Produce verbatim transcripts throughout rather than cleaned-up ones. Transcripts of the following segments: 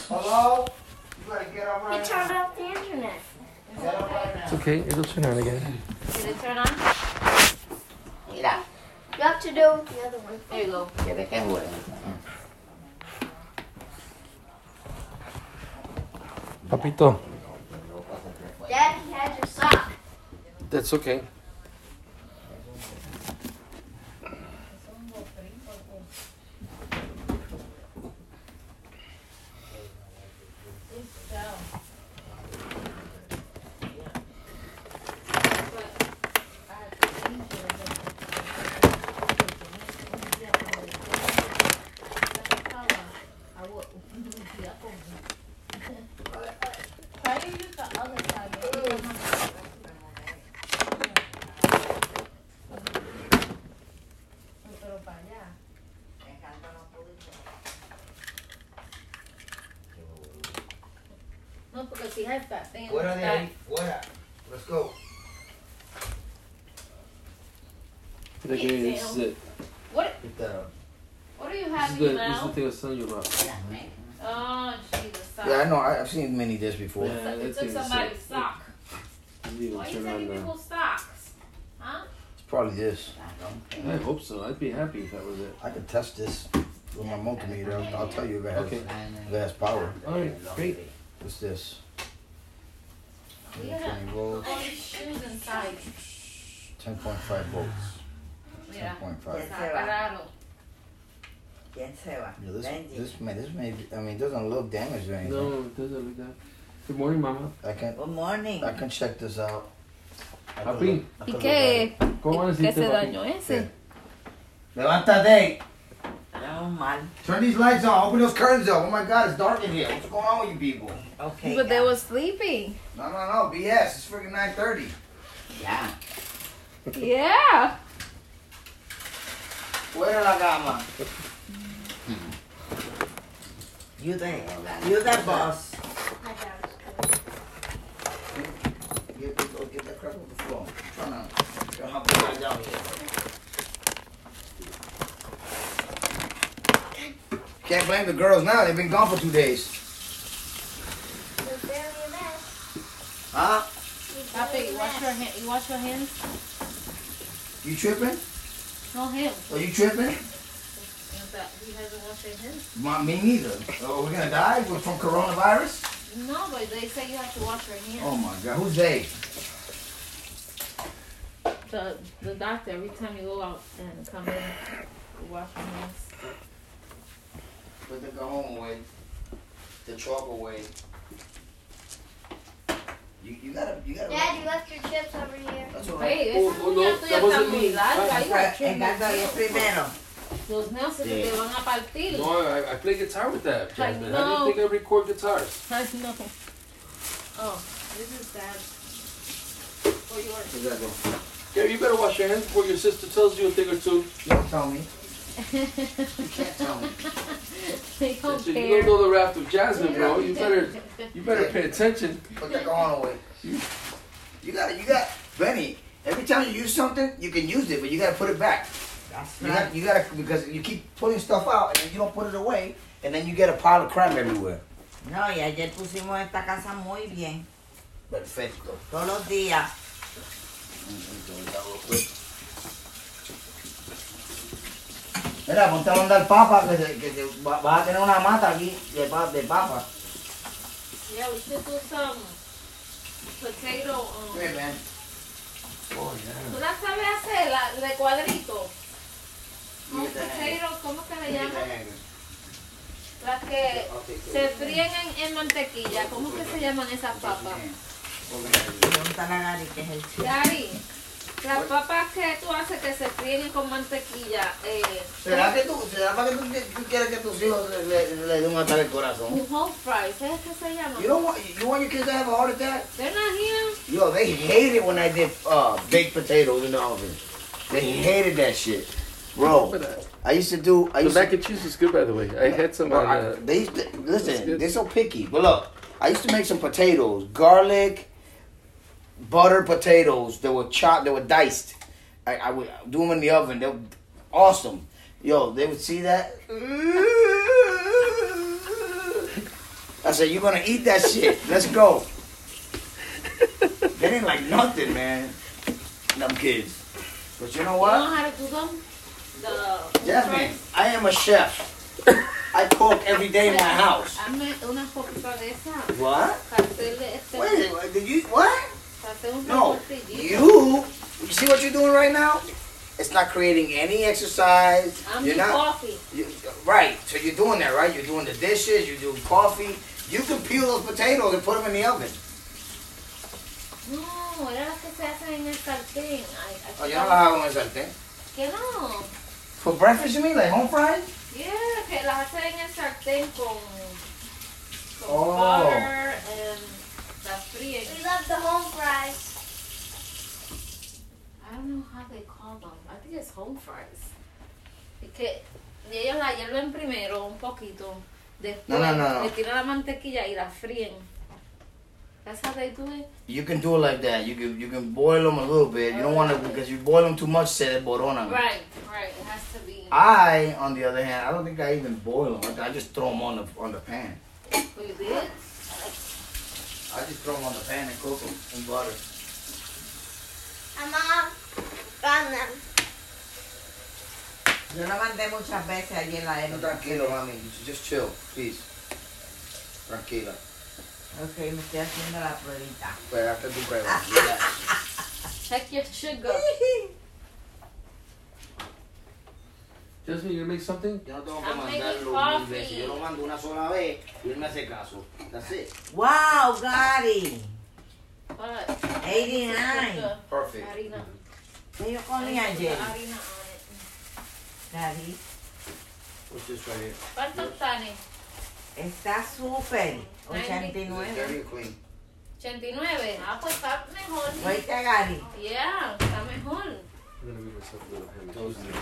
Hello? You gotta get up right He turned off the internet. Get up right now. It's okay. It'll turn on again. Did it turn on? Mira. You have to do it with the other one. There you go. ¿Quieres que juegue? Papito. Dad, he has your sock. That's okay. Try to use the other side. Pero para allá. No, porque si has that thing. Fuera de ahí, fuera. Let's go. Look at this is it. What? Get that up. What do you This have is in the your this is the mouth? thing I was telling you about. Oh, Jesus. Yeah, I know. I, I've seen many discs before. Yeah. It that's took it, it's somebody's it. sock. Didn't even Why are you turn on taking the. people's socks? Huh? It's probably this. I hope so. I'd be happy if that was it. I can test this with my multimeter. I'll, I'll tell you if it has, Okay. if it has power. All right. Great. What's this? Yeah. twenty volts, All these shoes inside. ten point five volts. ten Yeah. point five. Está raro. ¿Quién se va? Yeah, this, Benji. this, man, this may be, I mean, it doesn't look damaged or anything. No, it doesn't look that. Good morning, Mama. I can, Good morning. I can check this out. I can Papi. look- I ¿Y can look qué? at it. ¿Cómo ¿Qué decirte, se papi? dañó ese? Levántate. Estamos mal. Turn these lights on. Open those curtains up. Oh my God, it's dark in here. What's going on with you people? Okay. But they ya. were sleeping. No, no, no. B S. It's freaking nine thirty. Ya. Yeah. Fuera la cama. You the, you the boss. My dad was good. Get, get, get that crap off the floor. I'm trying to trying to help you guys out here. Can't blame the girls now. They've been gone for two days. There's barely a mess. Huh? There's Papi, barely you a wash your mess. hand. You wash your hands. You tripping? No him. Are you tripping? He hasn't washed his hands. My, me neither. Oh, we're gonna die from coronavirus? No, but they say you have to wash your hands. Oh my God. Who's they? The the doctor, every time you go out and come in, you wash your hands. Put the cajon away. The chalk away. You, you gotta, you gotta. Dad, you left your chips over here. That's all right. Hey, Oh, esa oh, no, uña tuya that está wasn't muy me. larga. You got trim En casa es primero. Los nails se te van a partir. No, I, I play guitar with that, I Jasmine. How do know. you think I record guitars? I know. Oh, this is bad. For yours. Where's that go? Gary, you better wash your hands before your sister tells you a thing or two. Don't tell me. You can't tell me. They don't Listen, care. you don't know the raft of Jasmine, bro. You better, you better pay attention. Put the cajon away. You, you gotta, you got, Benny. Every time you use something, you can use it, but you gotta put it back. That's You right. got, you gotta, because you keep putting stuff out and then you don't put it away, and then you get a pile of crap everywhere. No, y ayer pusimos esta casa muy bien. Perfecto. Todos los días. Mira, ponte a mandar papa, que, se- que se- va- vas a tener una mata aquí de, pa- de papa. Yeah, we should do some potato. Um, Hey, man. ¿Tú la sabes hacer? La de cuadrito. Un potato, ¿cómo que se llama? Las que se fríen en, en mantequilla. ¿Cómo que se llaman esas papas? Pregúntale a Gary que es el chico. Gary, las papas que tú haces que se fríen con mantequilla. Eh, ¿Será que tú, será para que tú, tú quieres que tus hijos le, le, le den un ataque al corazón? Whole fries, ¿sabes qué se llaman? You don't want, you want your kids to have a heart attack? They're not here. Yo, they hated when I did uh, baked potatoes in the oven. They hated that shit. Bro, I used to do, I The used mac to, and cheese is good, by the way. I had some bro, on. I, Uh, they used to, That's listen, good. they're so picky. But look, I used to make some potatoes, garlic, butter potatoes that were chopped, they were diced. I, I would do them in the oven. They were awesome. Yo, they would see that. I said, you're gonna eat that shit. Let's go. They ain't like nothing, man. Them kids. But you know You what? know how to do them? The Jasmine, I am a chef. I cook every day in my house. Hazme una poquita de esa. What? Para hacerle este. Wait, what, did you, what? Para hacer un No, tortillito. you, you see what you're doing right now? It's not creating any exercise. I'm You're the not, coffee. you, right, so you're doing that, right? You're doing the dishes, you're doing coffee. You can peel those potatoes and put them in the oven. No, era las que se hacen en el sartén. Ay, aquí Oh, yo no las hago en el sartén. ¿Qué no? For breakfast, you mean, like home fries? Yeah, que las hacen en el sartén con, con Oh. butter and las fríen. We love the home fries. I don't know how they call them. I think it's home fries. Es que ellos la hierven primero un poquito. Después No, no, no, no. le tiran la mantequilla y la fríen. That's how they do it? You can do it like that. You can you can boil them a little bit. You don't want to, because you boil them too much, se desboronan. Right, right. It has to be. I, on the other hand, I don't think I even boil them. I just throw them on the on the pan. Oh, you did? I just throw them on the pan and cook them in butter. And Mom found them. Yo lo mandé muchas veces allí en la No, época. tranquilo, mami. Just chill, please. Tranquila. Ok, me estoy haciendo la pruebita. Pero after tu prueba. Relax. Check your sugar. Jasmine, you gonna make something? Yo no tengo que I'm mandarlo making mil veces. coffee. Yo lo mando una sola vez y él me hace caso. That's it. Wow, Gary. But eighty-nine. sugar, Perfect. harina. ¿Qué yo comí Put ayer? the harina on it. Gary, What's this right here? ¿Cuántos tanes? está súper. Is it dirty ochenta y nueve. or clean? ochenta y nueve. Ah, pues está mejor. Oíste, Gary. Yeah, está mejor. I'm gonna make myself a little ham. Those are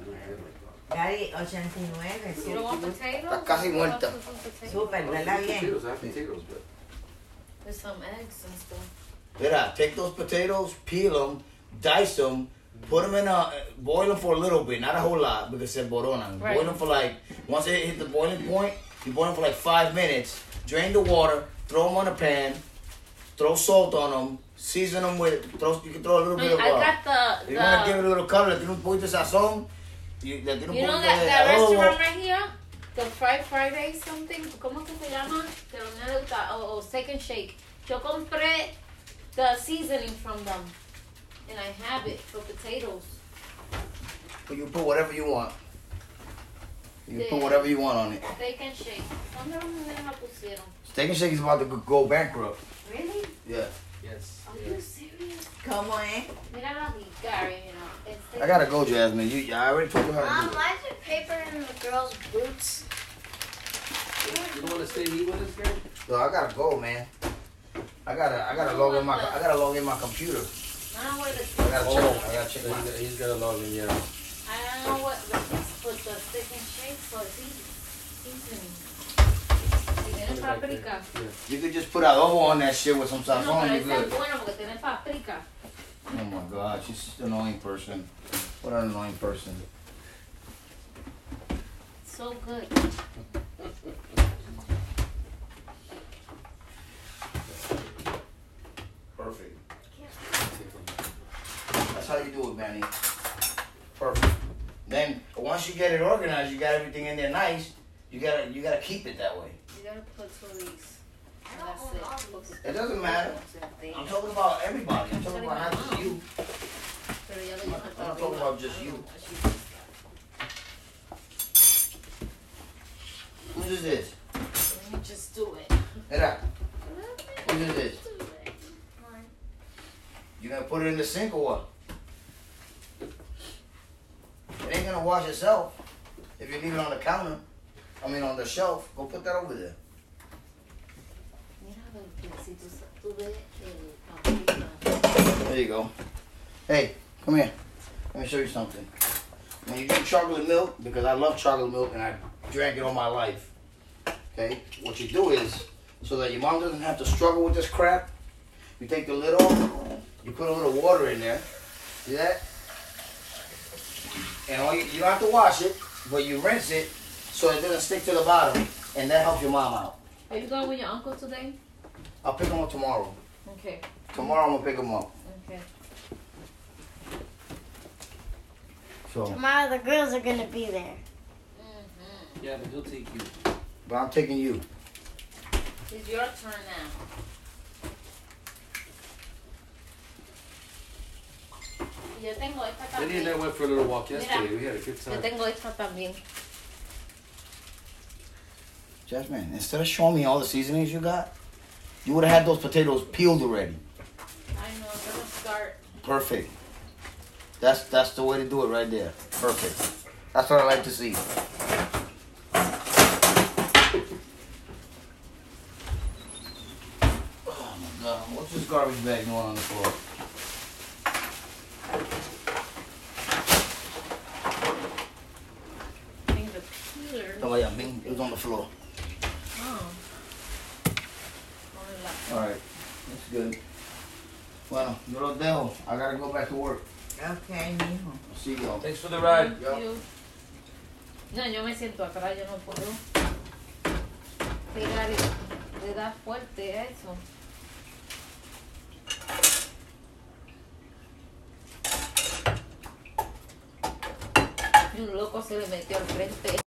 Gary, ochenta y nueve. You don't want Súper, potatoes? Está casi muerta. súper, ¿verdad? Bien. Potatoes, I have potatoes, but With some eggs and stuff. Mira, take those potatoes, peel them, dice them, put them in a, boil them for a little bit, not a whole lot, because se boronan. Right. Boil them for like, once they hit the boiling point, you boil them for like five minutes, drain the water, throw them on a pan, throw salt on them, season them with, throw, you can throw a little bit of, I uh, got the, if you want to give it the a little color, le tiene un poquito de sazón, you, le tiene un you know poquito that, de that adobo. restaurant right here? The Fried Friday something, ¿cómo que se llama? Que lo me gusta, o, o Steak and Shake. Yo compré the seasoning from them. And I have it for potatoes. But you put whatever you want. You can Yeah. put whatever you want on it. Steak and Shake. ¿Dónde los nenes la pusieron? Steak and Shake is about to go- go bankrupt. Really? Yeah. yes. Are you serious? ¿Cómo es? Míralo aquí, Gary, you know. It's steak I gotta go, Jasmine. You, I already told you how to Mom, do it. why is there paper in the girls' boots? You don't want to stay and eat with us, Gary? So I gotta go, man. I gotta, I gotta log in my, I gotta log in my computer. I don't know where the I gotta Oh. check, I gotta check He's my. got- He's got a log in, yeah. I don't know what the put the Steak and Shake for seasoning. Si tiene Put it back there. paprika. Yeah. You could just put adobo on that shit with some No, sazon. pero You esa es good. buena porque tiene paprika. Oh my god, she's an annoying person. What an annoying person. So good. Perfect. That's how you do it, Manny. Perfect. Then once you get it organized, you got everything in there nice. You gotta, you gotta keep it that way. You gotta put two of these. And that's it. Porque- It doesn't matter. I'm talking about everybody. I'm talking about not just you. Pero ya lo llevo I'm not talking about just you. Whose is this? Let me just do it. Mira, whose is this? Mine. You gonna put it in the sink or what? It ain't gonna wash itself if you leave it on the counter. I mean on the shelf. Go put that over there. Mira, a ver, si tú, tú ves el paprika. There you go. Hey, come here. Let me show you something. When you drink chocolate milk, because I love chocolate milk and I drank it all my life. Okay? What you do is, so that your mom doesn't have to struggle with this crap, you take the lid off, you put a little water in there. See that? And all you, you don't have to wash it, but you rinse it so it doesn't stick to the bottom. And that helps your mom out. Are you going with your uncle today? I'll pick him up tomorrow. Okay. Tomorrow I'm gonna pick him up. Okay. So, Tomorrow the girls are gonna be there. Mm-hmm. Yeah, but he'll take you. but I'm taking you. It's your turn now. Yo tengo esta Eddie and I también. went for a little walk Mira. yesterday. We had a good Yo time. tengo esta también. Jasmine, instead of showing me all the seasonings you got, you would have had those potatoes peeled already. I know, I'm gonna start. Perfect. That's that's the way to do it right there. Perfect. That's what I like to see. Oh my God! What's this garbage bag doing on the floor? I think the peeler. Oh yeah, bing, it was on the floor. Oh. Hola. All right, that's good. Bueno, yo lo dejo. I gotta go back to work. Ok, mijo. I'll see y'all. Thanks for the ride. Thank you. No, yo me siento atrás, yo no puedo. Pegar y le da fuerte a eso. Y un loco se le metió al frente.